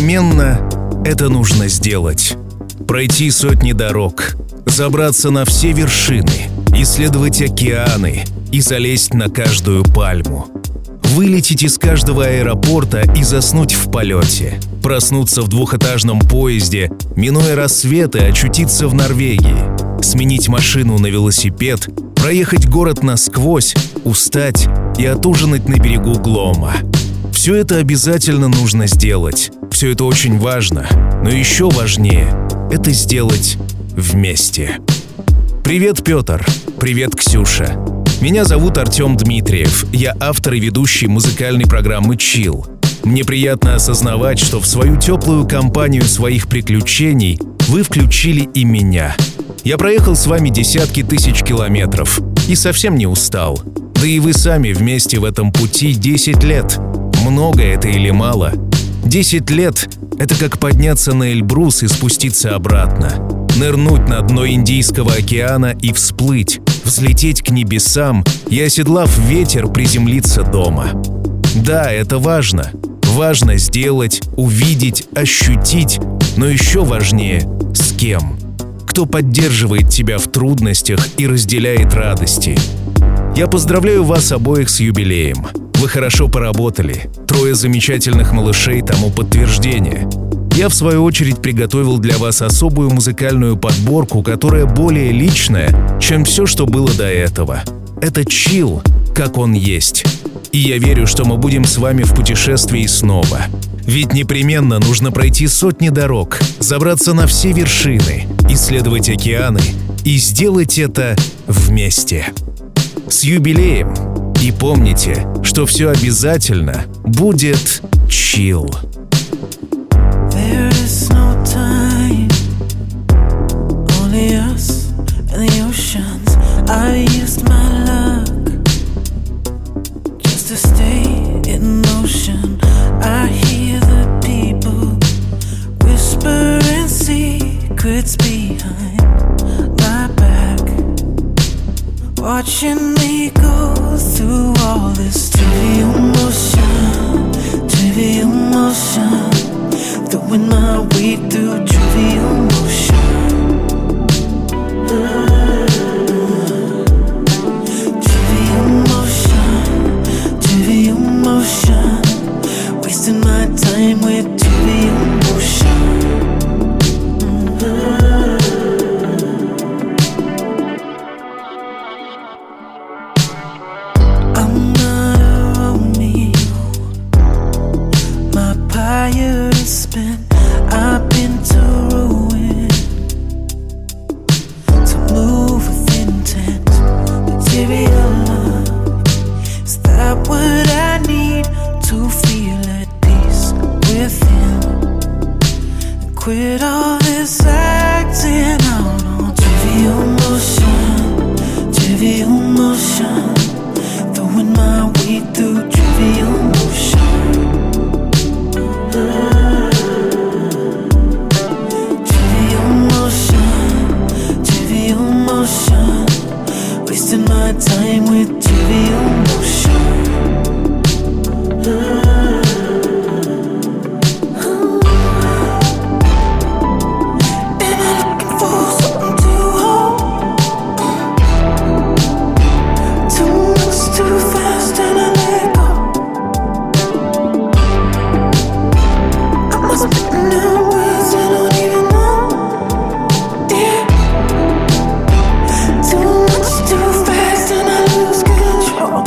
непременно это нужно сделать. Пройти сотни дорог, забраться на все вершины, исследовать океаны и залезть на каждую пальму. Вылететь из каждого аэропорта и заснуть в полете. Проснуться в двухэтажном поезде, минуя рассветы, очутиться в Норвегии. Сменить машину на велосипед, проехать город насквозь, устать и отужинать на берегу Глома. Все это обязательно нужно сделать. Все это очень важно. Но еще важнее – это сделать вместе. Привет, Петр. Привет, Ксюша. Меня зовут Артем Дмитриев. Я автор и ведущий музыкальной программы «Chill». Мне приятно осознавать, что в свою теплую компанию своих приключений вы включили и меня. Я проехал с вами десятки тысяч километров и совсем не устал. Да и вы сами вместе в этом пути 10 лет. Много это или мало? 10 лет – это как подняться на Эльбрус и спуститься обратно. Нырнуть на дно Индийского океана и всплыть, взлететь к небесам и, оседлав ветер, приземлиться дома. Да, это важно. Важно сделать, увидеть, ощутить, но еще важнее – с кем. Кто поддерживает тебя в трудностях и разделяет радости. Я поздравляю вас обоих с юбилеем. Вы хорошо поработали. 3 замечательных малышей тому подтверждение. Я, в свою очередь, приготовил для вас особую музыкальную подборку, которая более личная, чем все, что было до этого. Это чилл, как он есть. И я верю, что мы будем с вами в путешествии снова. Ведь непременно нужно пройти сотни дорог, забраться на все вершины, исследовать океаны и сделать это вместе. С юбилеем! И помните, что все обязательно будет чилл. There is no time, only us and the oceans. I used my luck just to stay in motion. I hear the people whispering secrets behind my back, watching me go through all this trivial motion, throwing my weight through trivial motion. Trivial motion, wasting my time with trivial motion. I'm not a Romeo, my pirate is spent. I've been to ruin, to move with intent. Material love, is that what I need to feel at peace within? And quit all this acting out on trivial motion, trivial motion, throwing my weight through trivial motion. Trivial motion, wasting my time with trivial motion. Am I looking for something to hold? Too much, too fast, and I let go. I must be in words I don't even know. Yeah. Too much, too fast, and I lose control.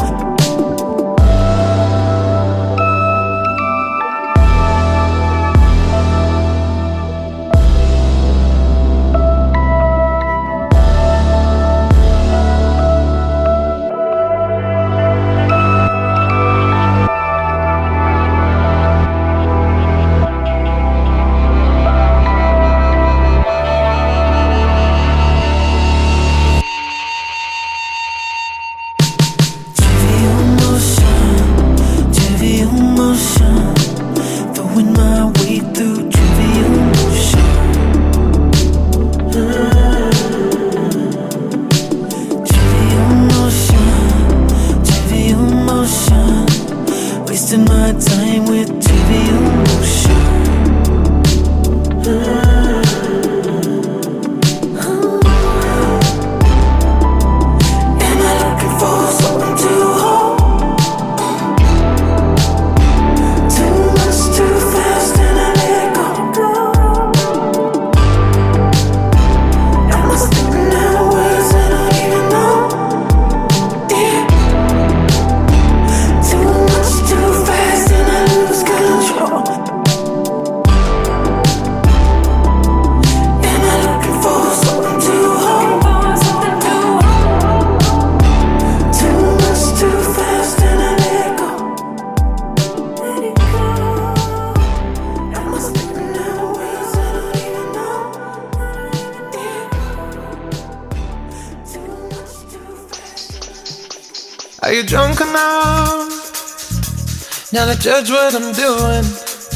Are you drunk enough now to judge what I'm doing?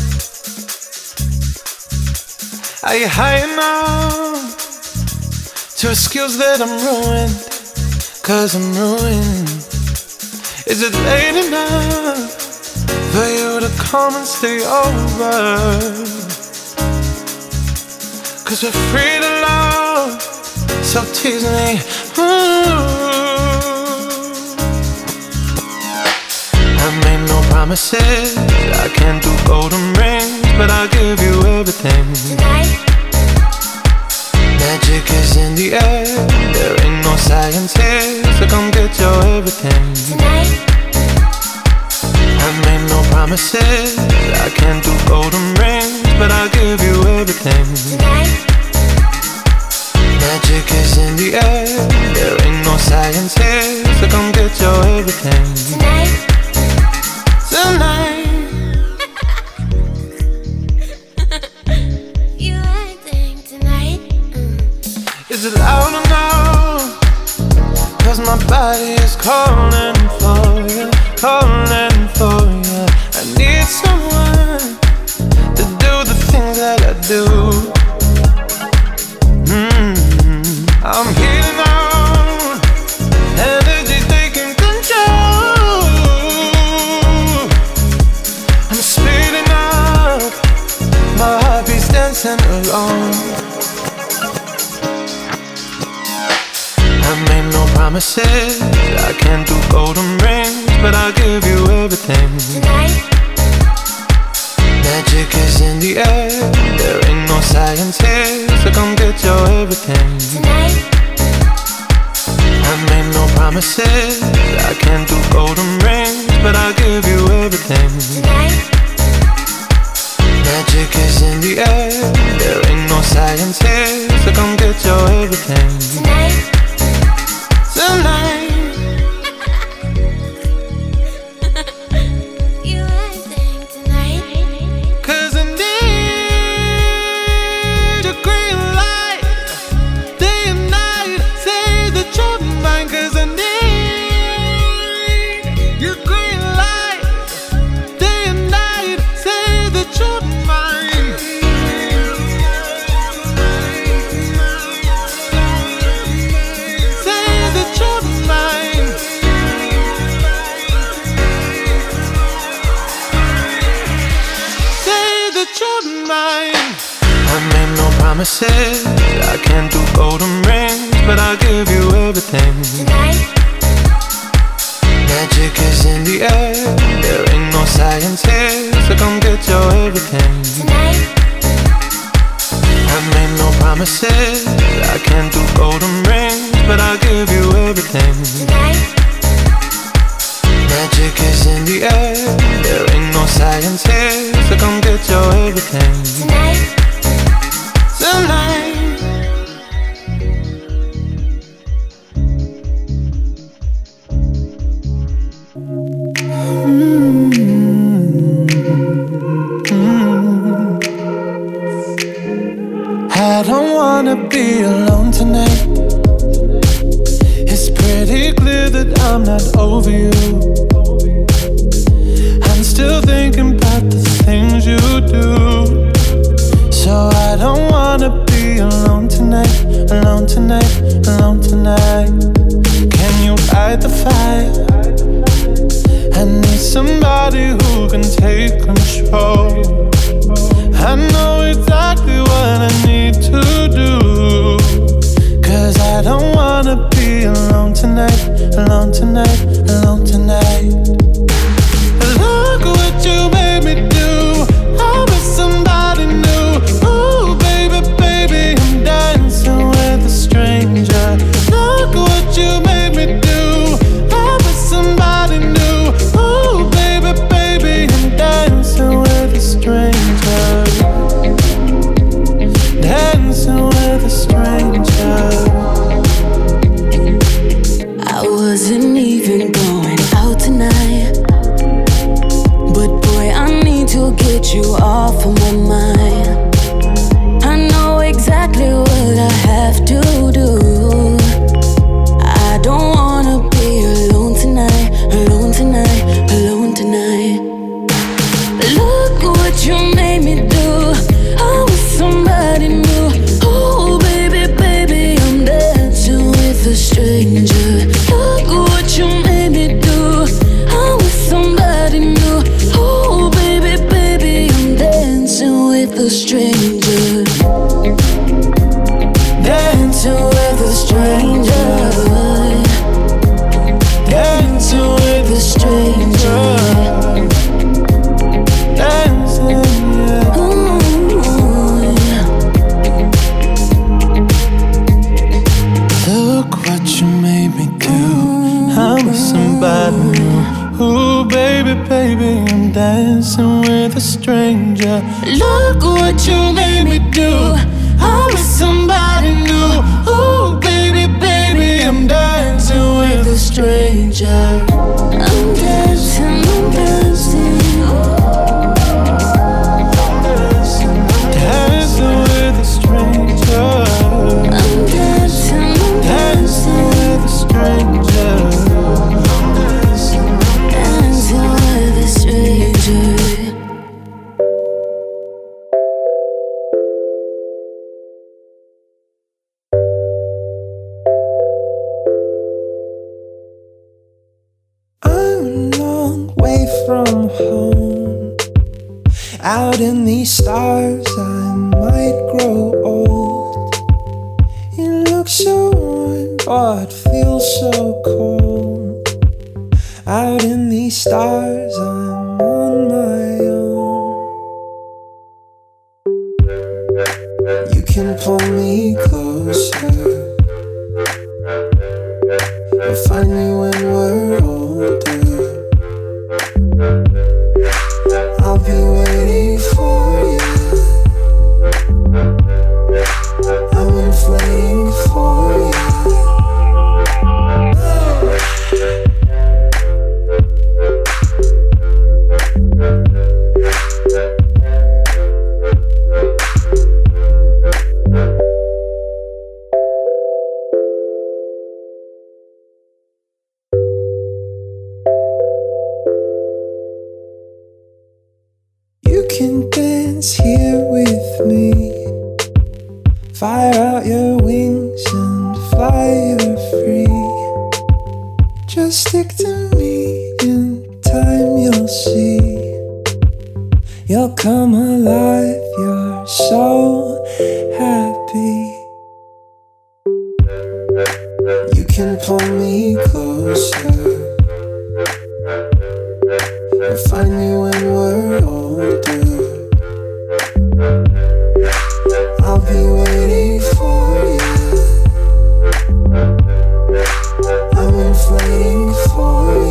Are you high enough to excuse that I'm ruined? 'Cause I'm ruined. Is it late enough for you to come and stay over? 'Cause we're free to love, so tease me. I made no promises, I can't do golden rings, but I'll give you everything. Tonight, Magic is in the air, there ain't no science here, so come get your everything. tonight, I made no promises, I can't do golden rings, but I'll give you everything. tonight, Magic is in the air, there ain't no science here, so come get your everything. tonight. Tonight, You acting tonight. is it loud or no? 'Cause my body is calling for you, calling for you. I need someone to do the things that I do. I'm heating on, energy taking control. I'm speeding up, my heartbeat's dancing alone. I made no promises, I can't do golden rings, but I'll give you everything. Tonight, Magic is in the air, there ain't no science here, so come get your everything. tonight, I made no promises, I can't do golden rings, but I'll give you everything. tonight, Magic is in the air, there ain't no science here, so come get your everything. tonight. Tonight, You acting tonight. 'cause I need your green light, day and night, say that you're mine. 'Cause I need your green light, day and night, say that you're mine. Say that you're mine. Say that you're mine. I made no promises, I can't do golden rings, but I'll give you everything. Tonight, Magic is in the air, there ain't no science here, so come get your everything. tonight, I made no promises, I can't do golden rings, but I'll give you everything. tonight, Magic is in the air, there ain't no science here, so come get your everything. tonight. Tonight, I don't wanna be alone tonight. It's pretty clear that I'm not over you. I'm still thinking about the things you do. So I don't wanna be alone tonight, alone tonight, alone tonight. Can you fight the fire? I need somebody who can take control. I know exactly what I need to do. 'Cause I don't wanna be alone tonight, alone tonight, alone tonight. Look what you made me do. I'm with somebody new. Ooh, baby, baby, I'm dancing with a stranger. Look what you made me do. I'm with somebody new. Ooh, baby, baby, I'm dancing with a stranger. Look what you made me do. I'm with somebody new. Ooh, baby, baby, I'm dancing with a stranger. I'm dancing, I'm dancing. Dancing with a stranger. I'm dancing, I'm Dancing with a stranger. dancing with a stranger. I'm a long way from home. Out in these stars, I might grow old. It looks so warm, but feels so cold. Out in these stars, I'm on my own. You can pull me closer or find me when we're older. I'll be waiting for you. I'm inflating for you. You can dance here with me. Fire out your wings and fly, you're free. Just stick to me, in time you'll see. You'll come alive, you're so happy. You can pull me closer or find me when we're older. I'll be waiting for you. I'm inflating for you.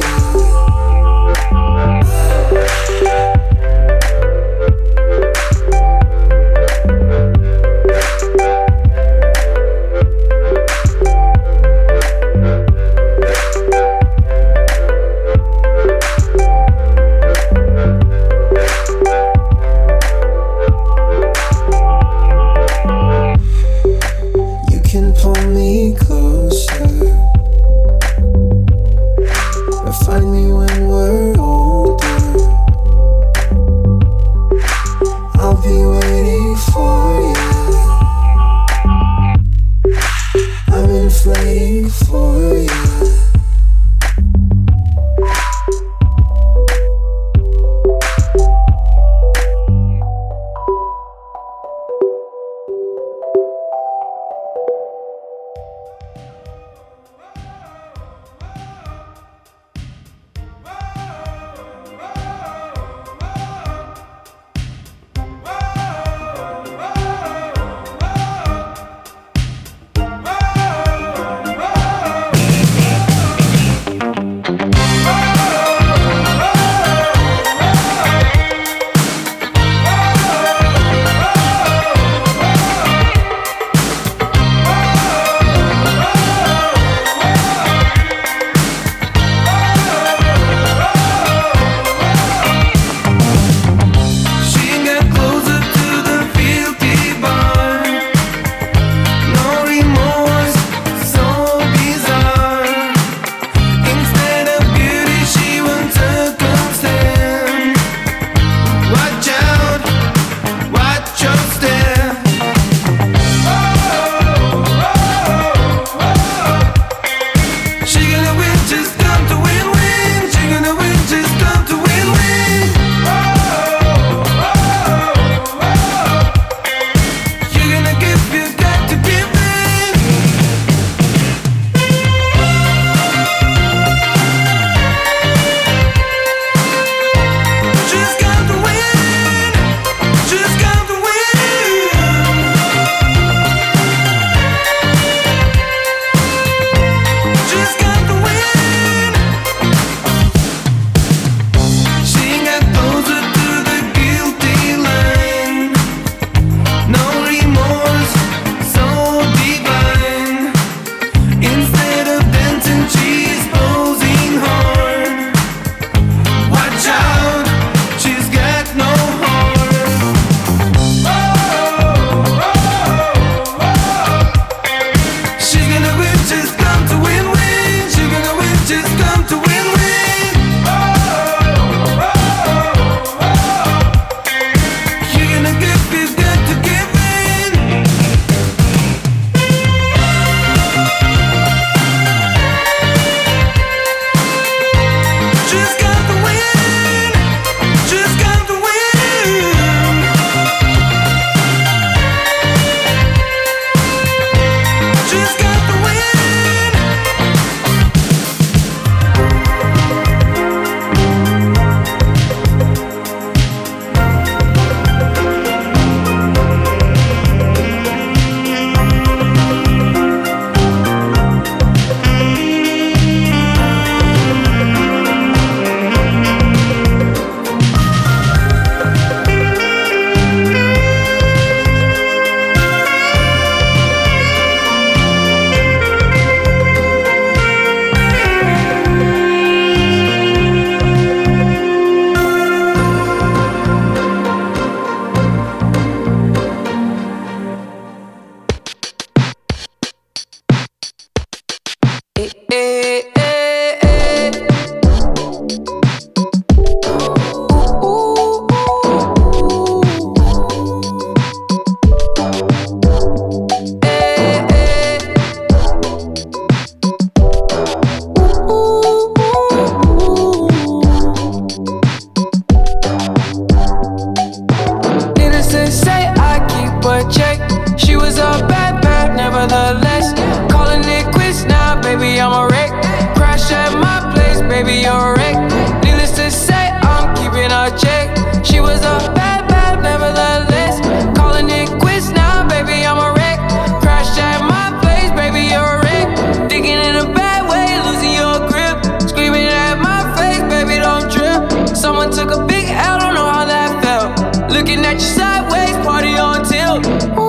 was a bad, bad, nevertheless. Calling it quits now, baby, I'm a wreck. Crash at my place, baby, you're a wreck. Needless to say, I'm keeping a check. She was a bad, bad, nevertheless. Calling it quits now, baby, I'm a wreck. Crash at my place, baby, you're a wreck. Thinking in a bad way, losing your grip. Screaming at my face, baby, don't trip. Someone took a big L, don't know how that felt. Looking at you sideways, party on tilt.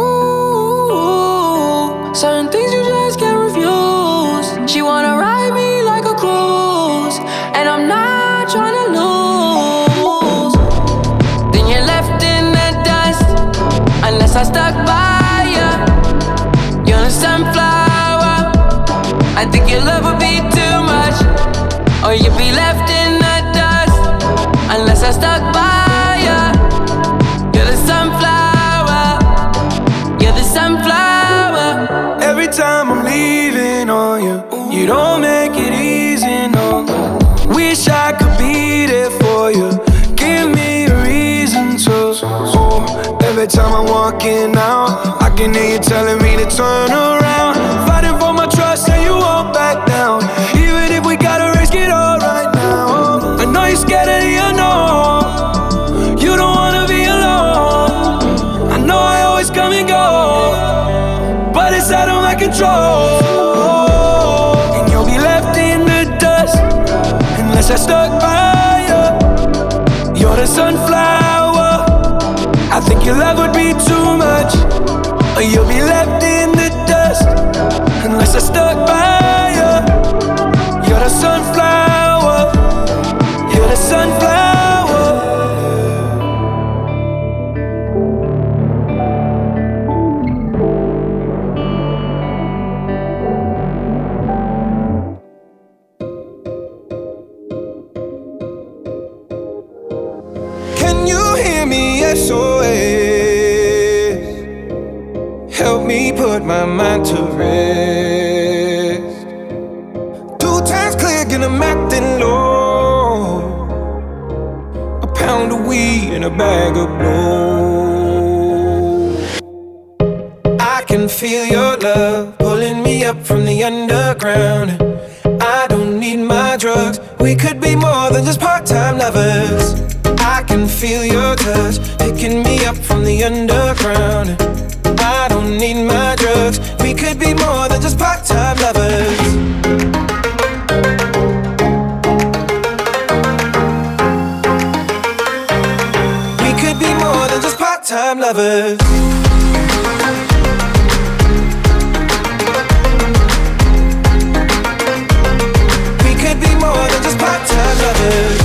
Ooh, certain things you just can't refuse. She wanna ride me like a cruise, and I'm not trying to lose. Then you're left in the dust, unless I stuck by ya. You're a sunflower. I think your love would be too much, or you'd be left in the dust, unless I stuck by ya. You're the sunflower. You're the sunflower. Every time I'm leaving on you, you don't make it easy, no. Wish I could be there for you. Give me a reason to. Oh, every time I'm walking out, I can hear you telling me to turn around. Fighting for my trust and you won't back down. Even if we gotta risk it all right now. I know you're scared of the unknown. You don't wanna be alone. I know I always come and go, but it's out of my control. And you'll be left in the dust, unless I stuck by you. You're the sunflower. I think your love would be too much, or you'll be left in the dust, unless I stuck by you. You're the sunflower. You're the sunflower. Can you hear me? SOS. Help me put my mind to rest. 2 times click and I'm acting low. A pound of weed and a bag of blow. I can feel your love pulling me up from the underground. I don't need my drugs. We could be more than just part-time lovers. I can feel your touch picking me up from the underground. I don't need my drugs. We could be more than just part-time lovers. We could be more than just part-time lovers. We could be more than just part-time lovers.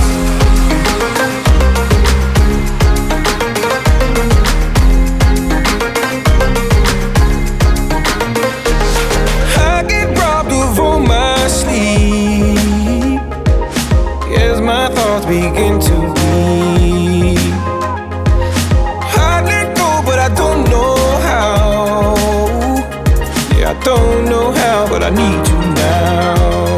Begin to be. I let go, but I don't know how. Yeah, I don't know how, but I need you now.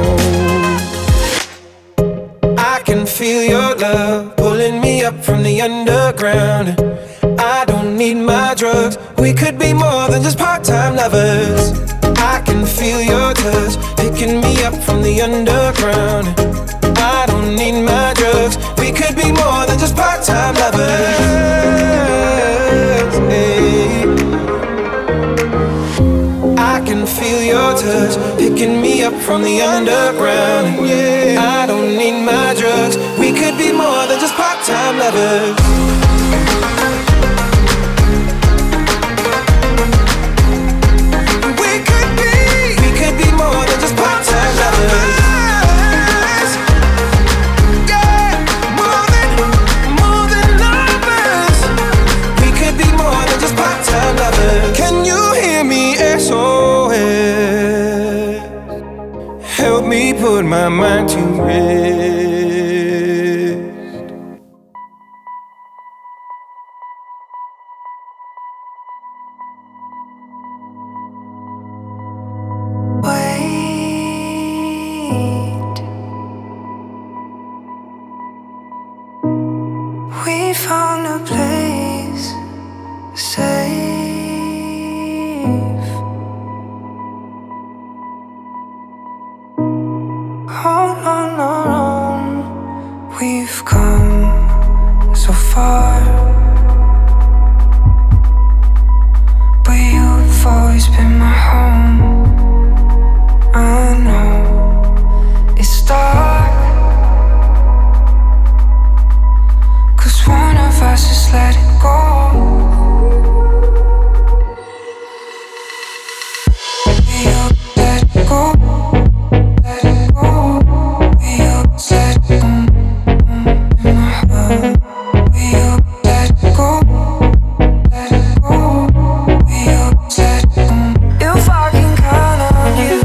I can feel your love pulling me up from the underground. I don't need my drugs. We could be more than just part-time lovers. I can feel your touch picking me up from the underground. I don't need my drugs. We could be more than just part-time lovers. Hey. I can feel your touch picking me up from the underground. Yeah. I don't need my drugs. We could be more than just part-time lovers. We could be more than just part-time lovers. Can you hear me? SOS. Help me put my mind to rest. Wait, we found a place safe. always been my home. I know it's dark, 'cause one of us just let it go. You let it go, let it go. You let it go in my heart. You let it go, let it go. You let it go. If I can count on you.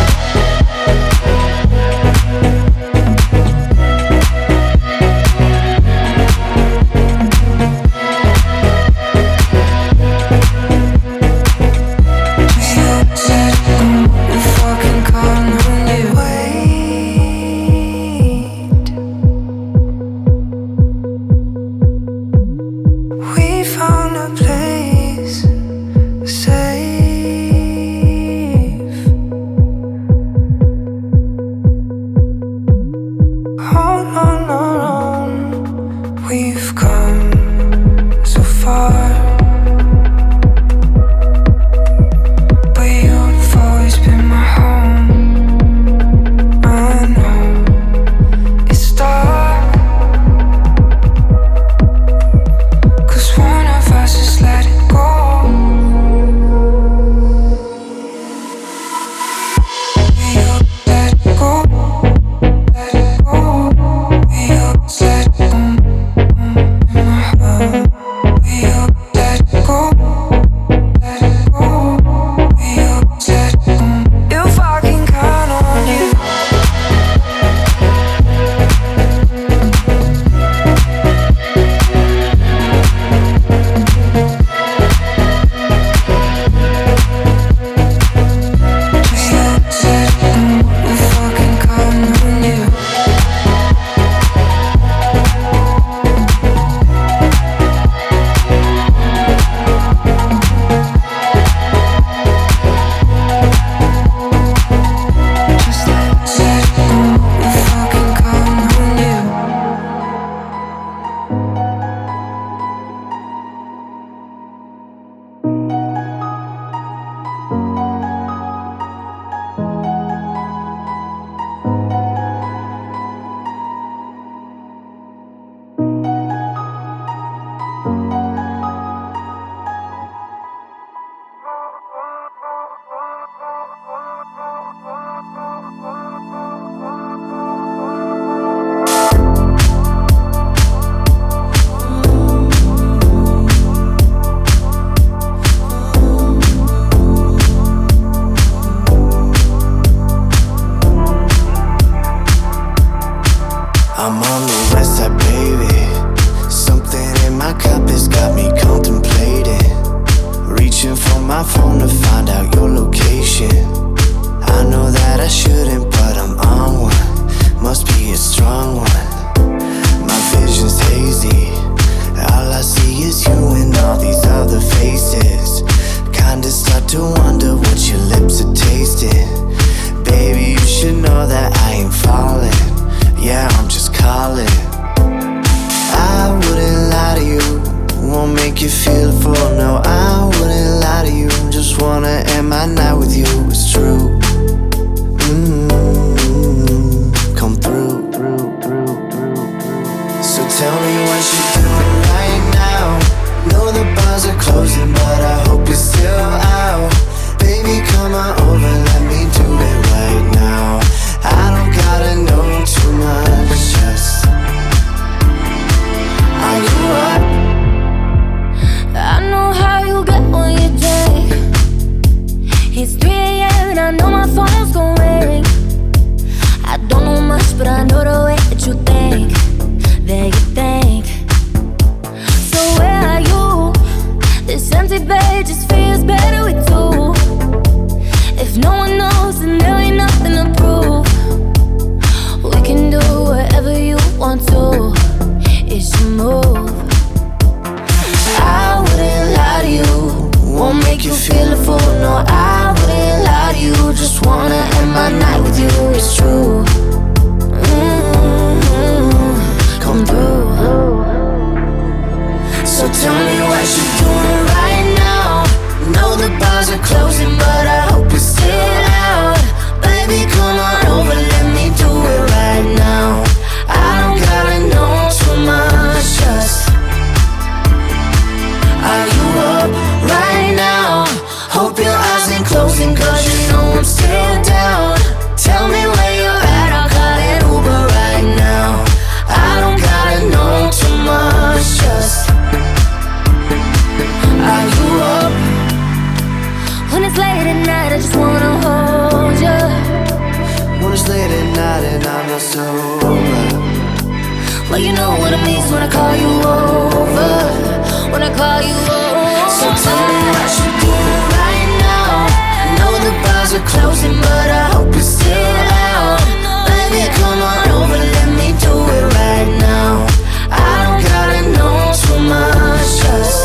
We've come so far, but you've always been my home. I know it's dark, 'cause one of us just let it go. You let it go, let it go. You let it go. I'm on the west side, baby. Something in my cup has got me contemplating. Reaching for my phone to find out your location. I know that I shouldn't, but I'm on one. Must be a strong one. My vision's hazy. All I see is you and all these other faces. Kinda start to wonder what your lips are tasting. Baby, you should know that I ain't falling. Yeah, I'm just calling. I wouldn't lie to you, won't make you feel full. No, I wouldn't lie to you, just wanna end my night with you. It's true. Come through. So tell me what you're doing right now. Know the bars are closing, but I hope you're still out. Baby, come on over, let me do it right now. I don't gotta know too much, just are you up? I know how you get when you drink. It's 3 AM and I know my phone's gon' ring. I don't know much, but I know the way that you think. So where are you? This empty bed just feels better with two. If no one knows, then there ain't nothing to prove. We can do whatever you want to. It's your move. I wouldn't lie to you, won't make you feel a fool. No, I wouldn't lie to you, just wanna end my night with you. It's true. Come through. So tell me what you're doing right now. Know the bars are closing, just wanna hold you. When it's late at night and I'm not sober. Well, you know what it means when I call you over. When I call you over. So tell me what you doing right now. I know the bars are closing, but I hope you're still out. Baby, come on over, let me do it right now. I don't gotta know too much, just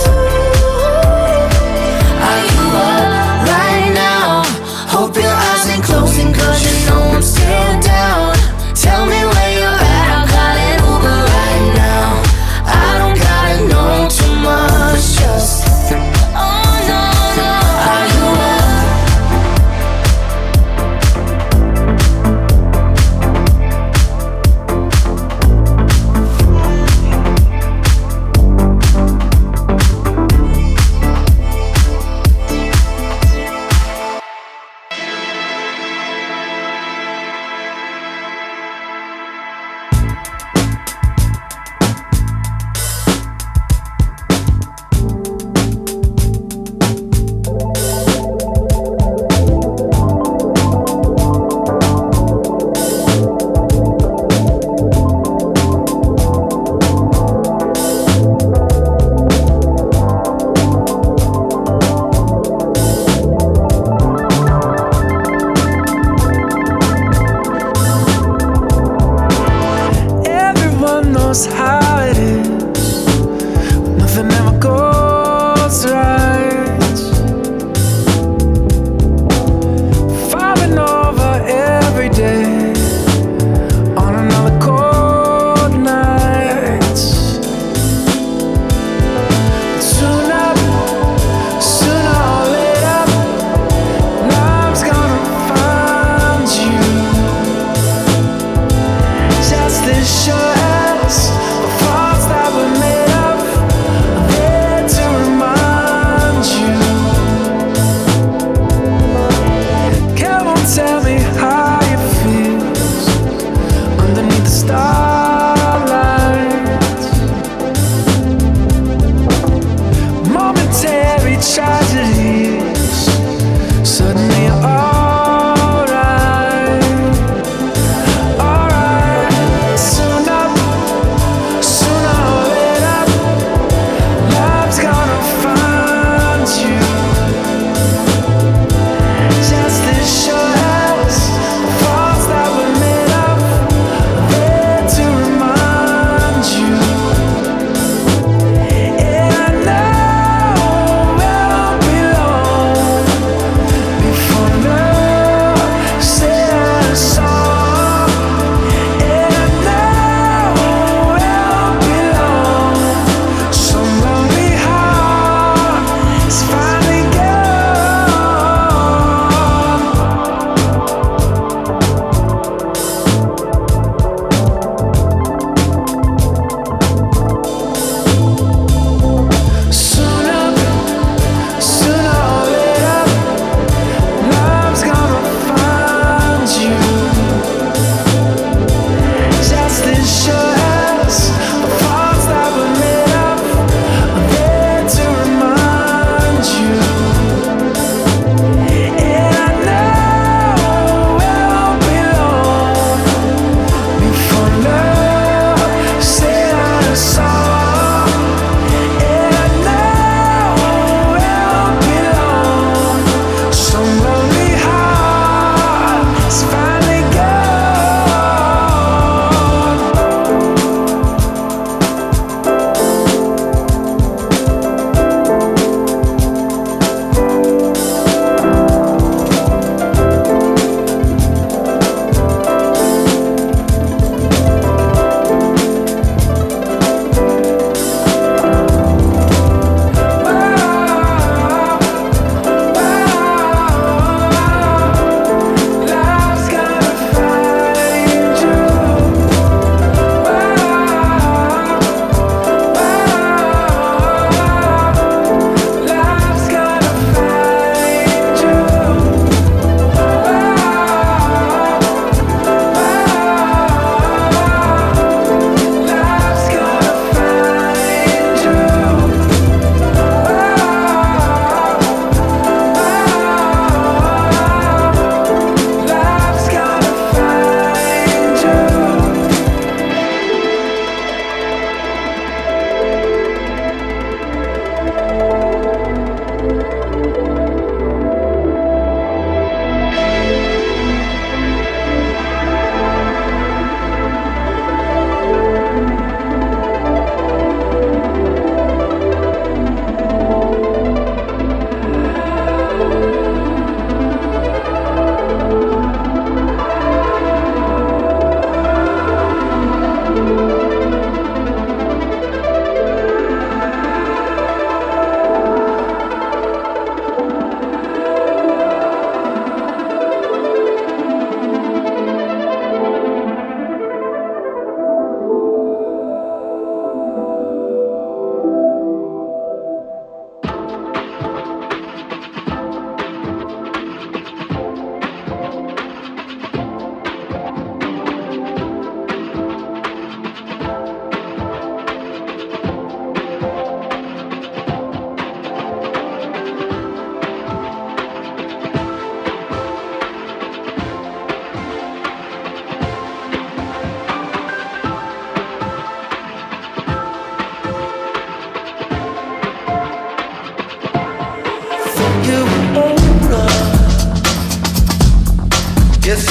are you up right now? Hope your eyes ain't closing, cause you know I'm still down. Tell me where you're at, I'm calling Uber right now. I don't gotta know too much, just oh no, no.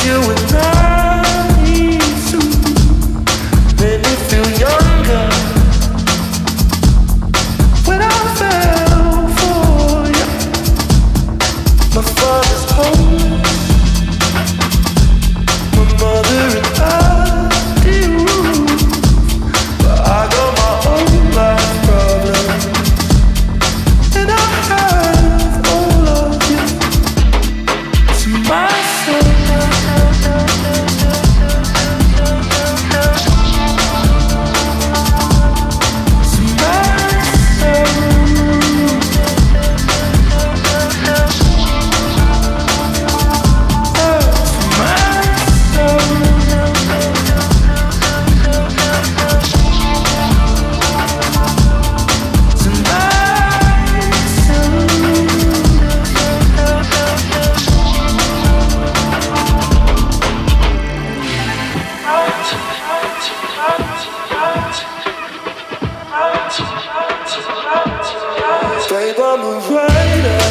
you when I need to. Made me feel younger when I fell for you. My father's home, my mother and I do, but I got my own life problems, and I have all of you to myself. Babe, I'm a writer.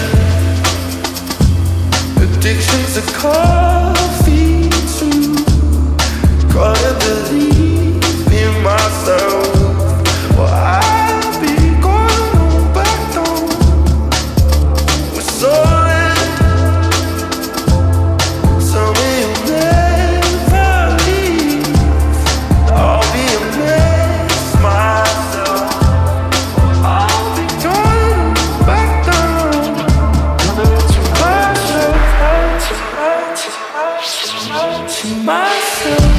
Addiction's a coffee too. Gotta believe in myself. Well, I'll be going on back down. We're solid. Tell me you'll never leave. I'll be a mess myself. I'll be going back down to myself, to myself.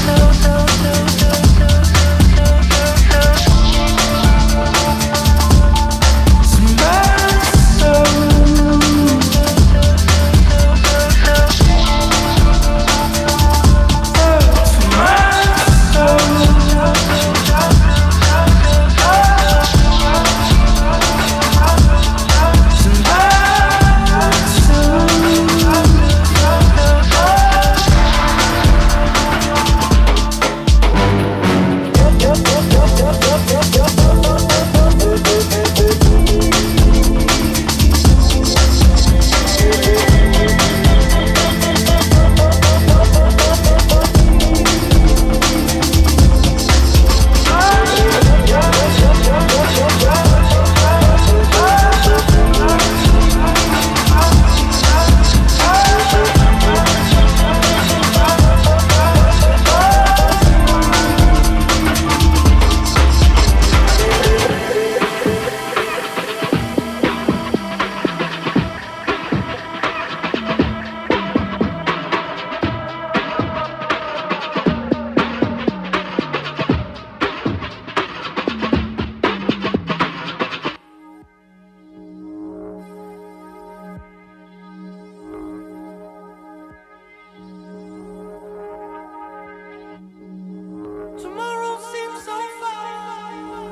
Tomorrow seems so far.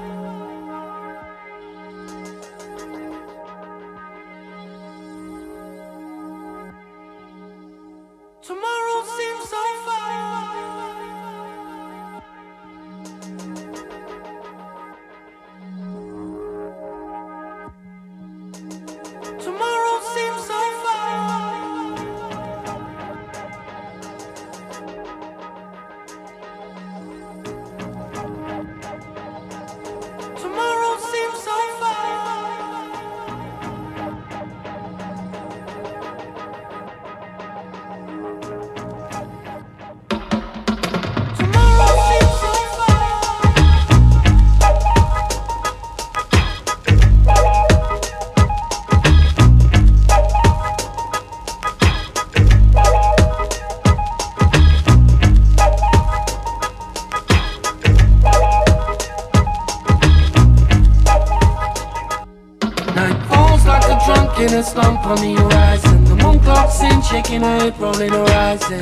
Tomorrow seems so far. Tomorrow seems so far. Tomorrow seems so far. Tomorrow seems so in a slump on the horizon. The moon clocks in, shaking her head, rolling horizon.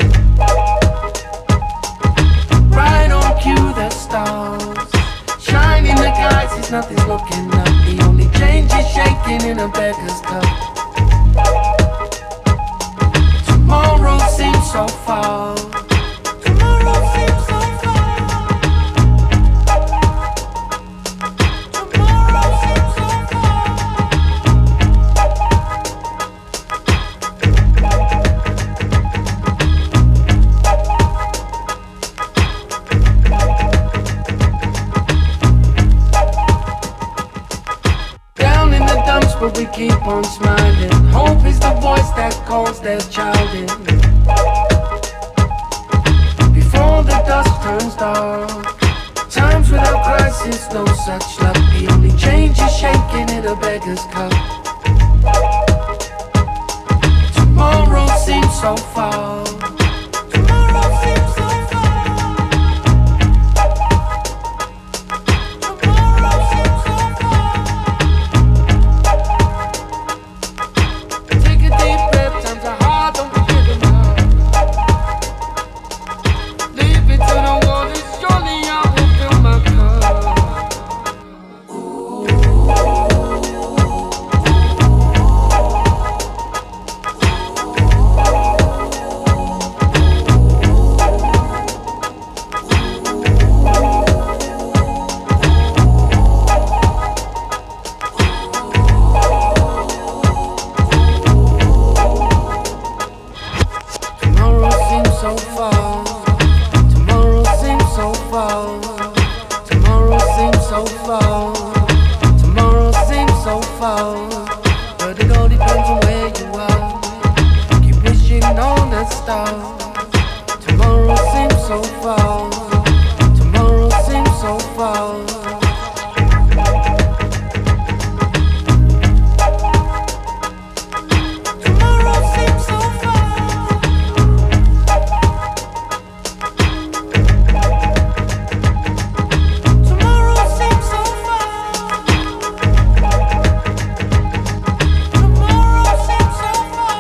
Right on cue, the stars shine in the galaxies, nothing's looking up. The only change is shaking in a beggar's cup. Tomorrow seems so far. Tomorrow seems so far. Tomorrow seems so far. keep on smiling. Hope is the voice that calls their child in. Before the dust turns dark, times without crisis, no such luck. The only change is shaking in a beggar's cup. Tomorrow seems so far. Tomorrow seems so far. Tomorrow seems so far. Take a deep breath, times are hard, don't forget them now. Leave it to the waters, surely I will fill my cup. Tomorrow seems so far. Tomorrow seems so far. Tomorrow seems so far. Tomorrow seems so far. But it all depends on where you are. Keep wishing on a star. Tomorrow seems so far. Tomorrow seems so far. Tomorrow seems so far. Tomorrow seems so far. Tomorrow seems so far.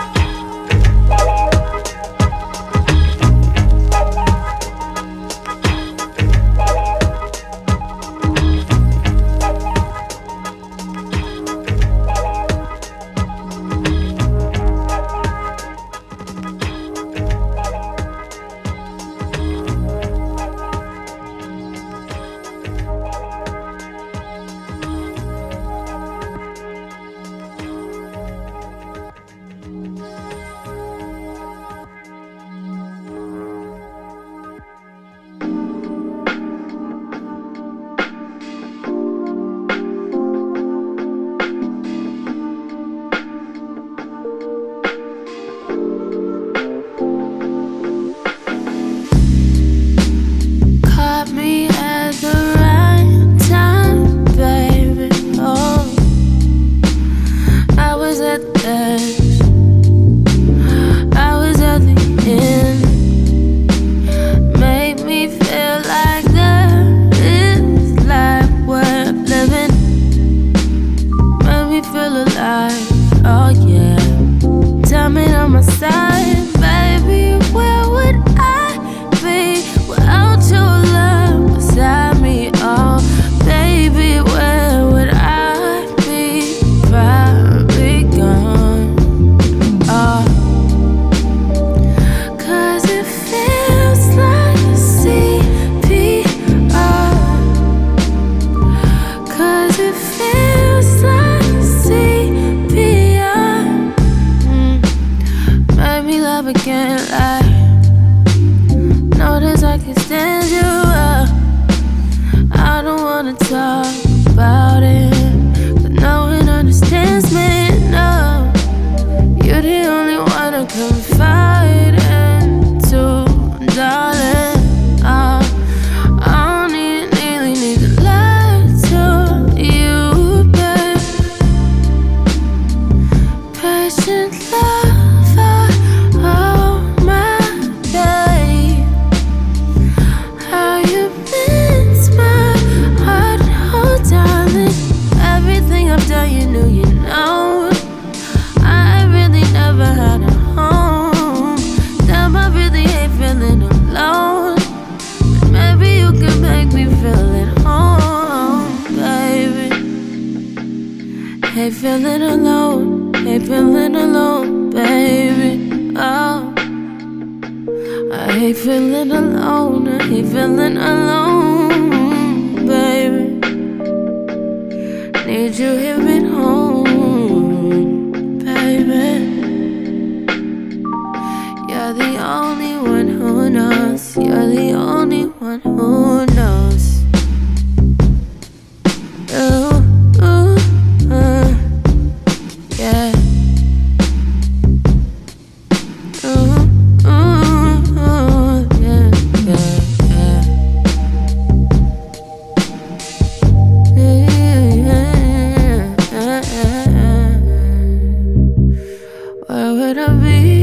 Caught me at the right time, baby. Oh, I was at the edge. I was at the end. Made me feel like there is life worth living. Made me feel alive. Oh yeah. Tell me on my side, baby. Where would I be without your love beside me? Oh, baby, where would I be? Probably gone. Oh, 'cause it feels like CPR. 'Cause it feels like CPR. Made me love again like notice I can stand you up. I don't wanna talk about it, but no one understands me. No, you're the only one I confide into, darling. I don't really need to lie to you, babe. Patient lover, oh my babe. How you meant my heart, oh darling. Everything I've done, you knew, you know. I really never had a home. Damn, I really hate feeling alone. But maybe you can make me feel at home, baby. Hate feeling alone, hate feeling alone, baby. Oh, I hate feeling alone, I hate feeling alone, baby. Need you here at home, baby. You're the only one who knows. You're the only one who knows. Ooh, ooh, wanna be.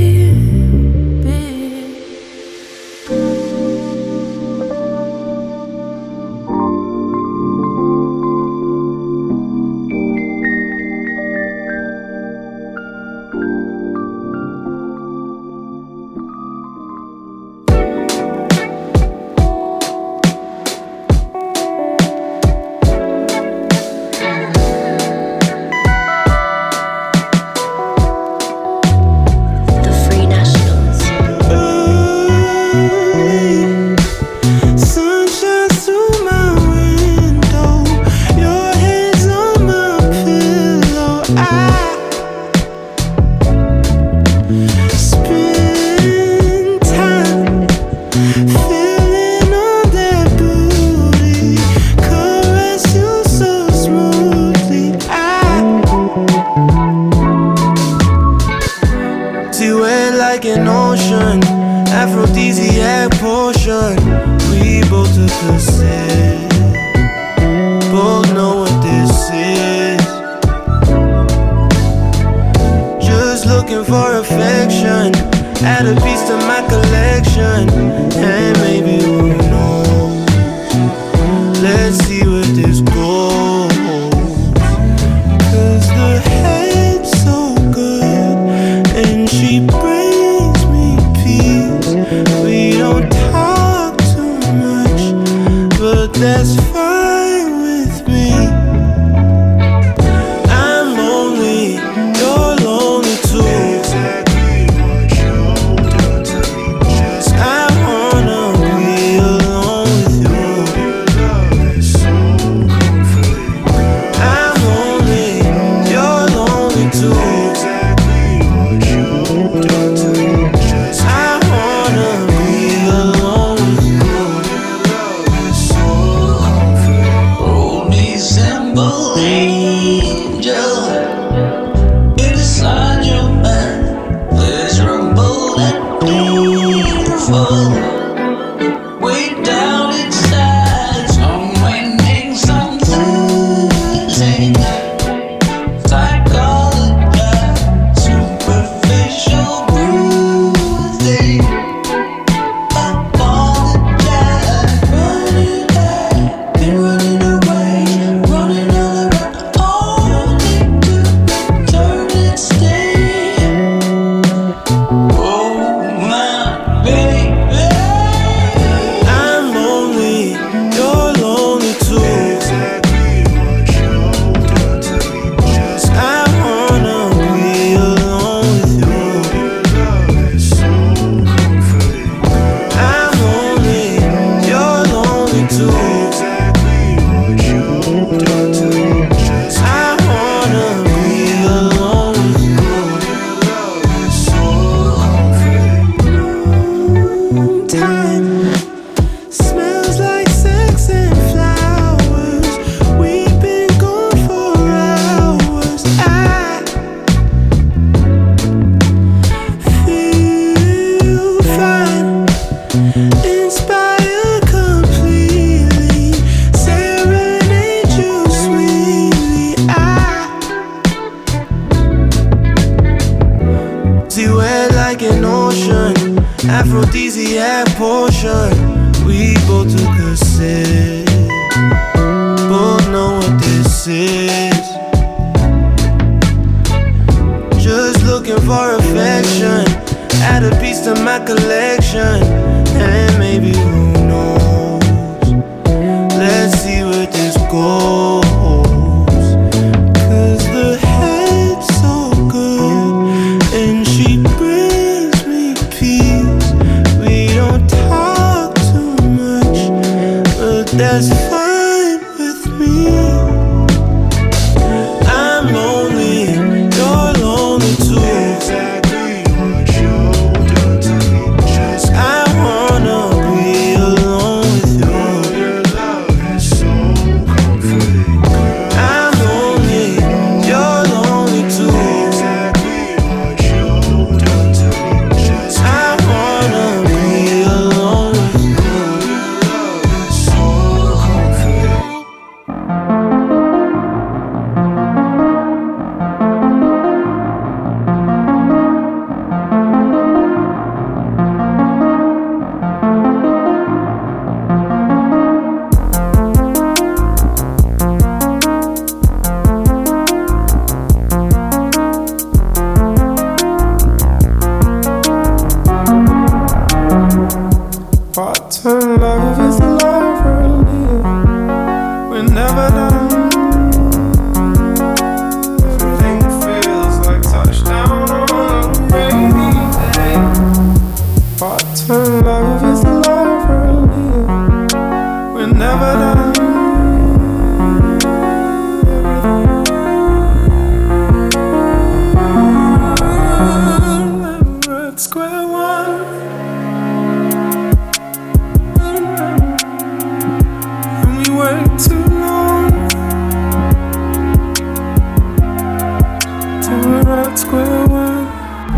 Part-time love is the life we're living. We're never done. We're at square one. And we wait too long till we're at square one.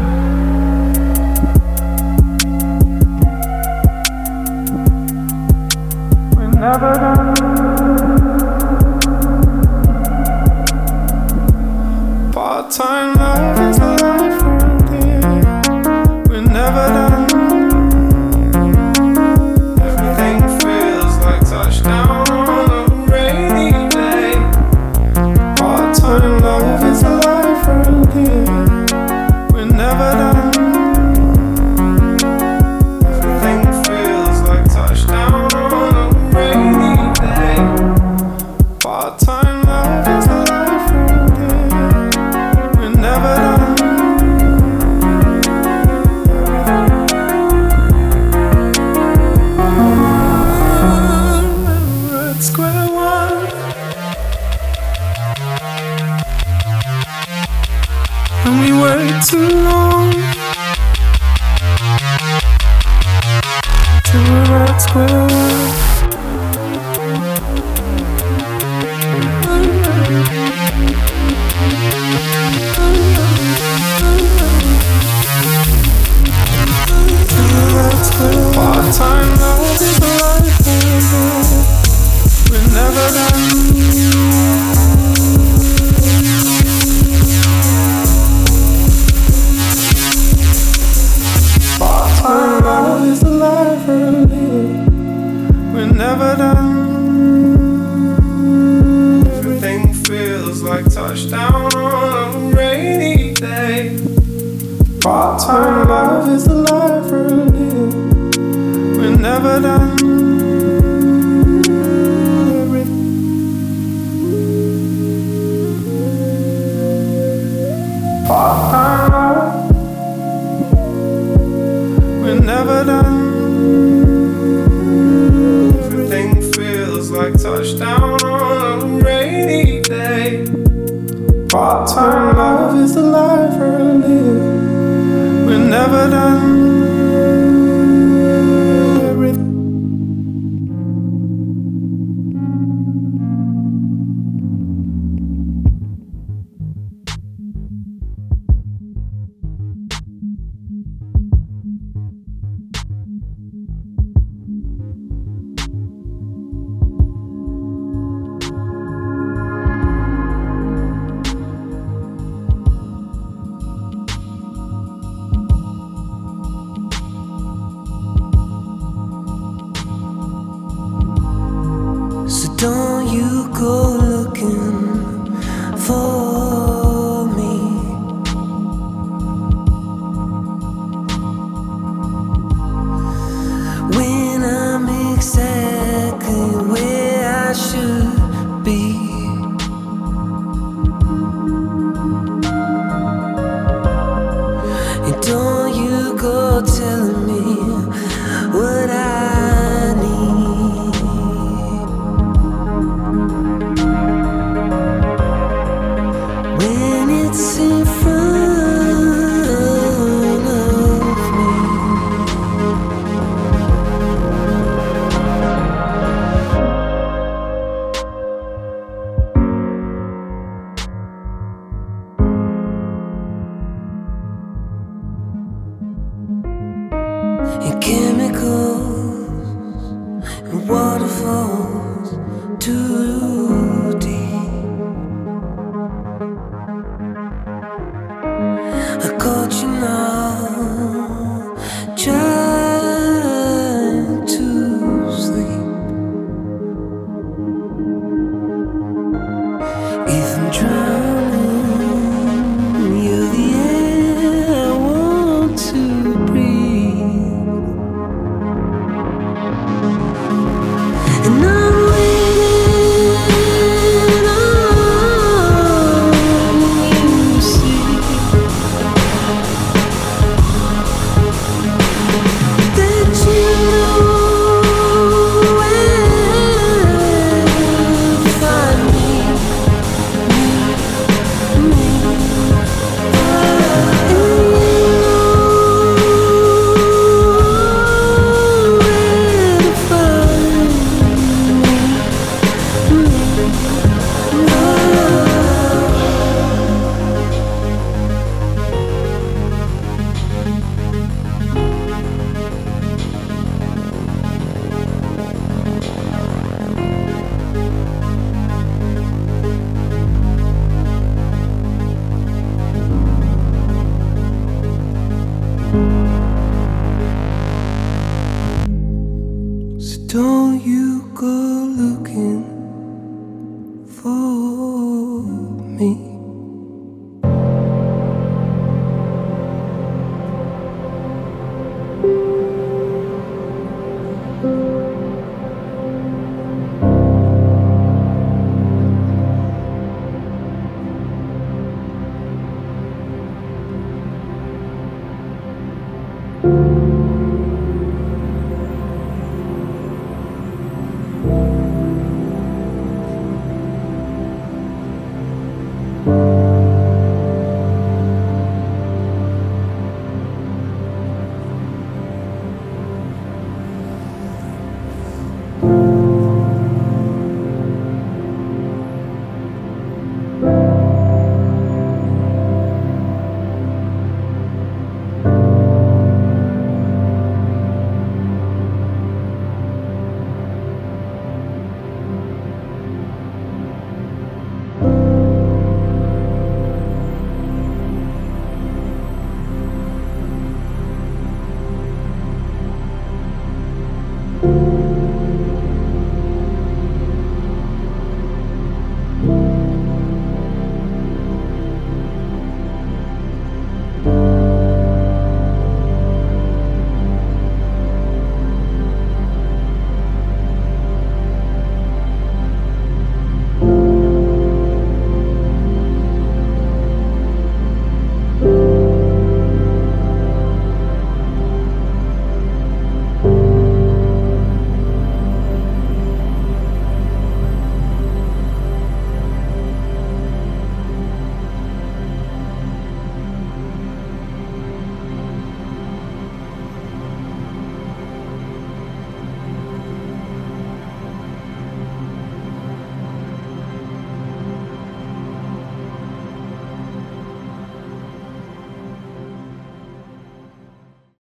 Never done. Part-time love is a life we're living. We're never done. Everything feels like touchdown on a rainy day. Part-time love is a life we're living. We're never done. Everything feels like touchdown. Part-time love is a life we're living. We're never done. We're at square one. And we wait too long till we're at square one. Part-time love is a life we're never done. Part-time love is the life we're living. We're never done. Everything feels like touchdown on a rainy day. Part-time love is the life we're living. We're never done. Part-time love. We're never done. Everything feels like touchdown on a rainy day. Part-time love is the life we're living. We're never done. Don't you go looking for me. When I'm exactly where I should be. And don't you go telling me what I need. When it's in front of me. It can't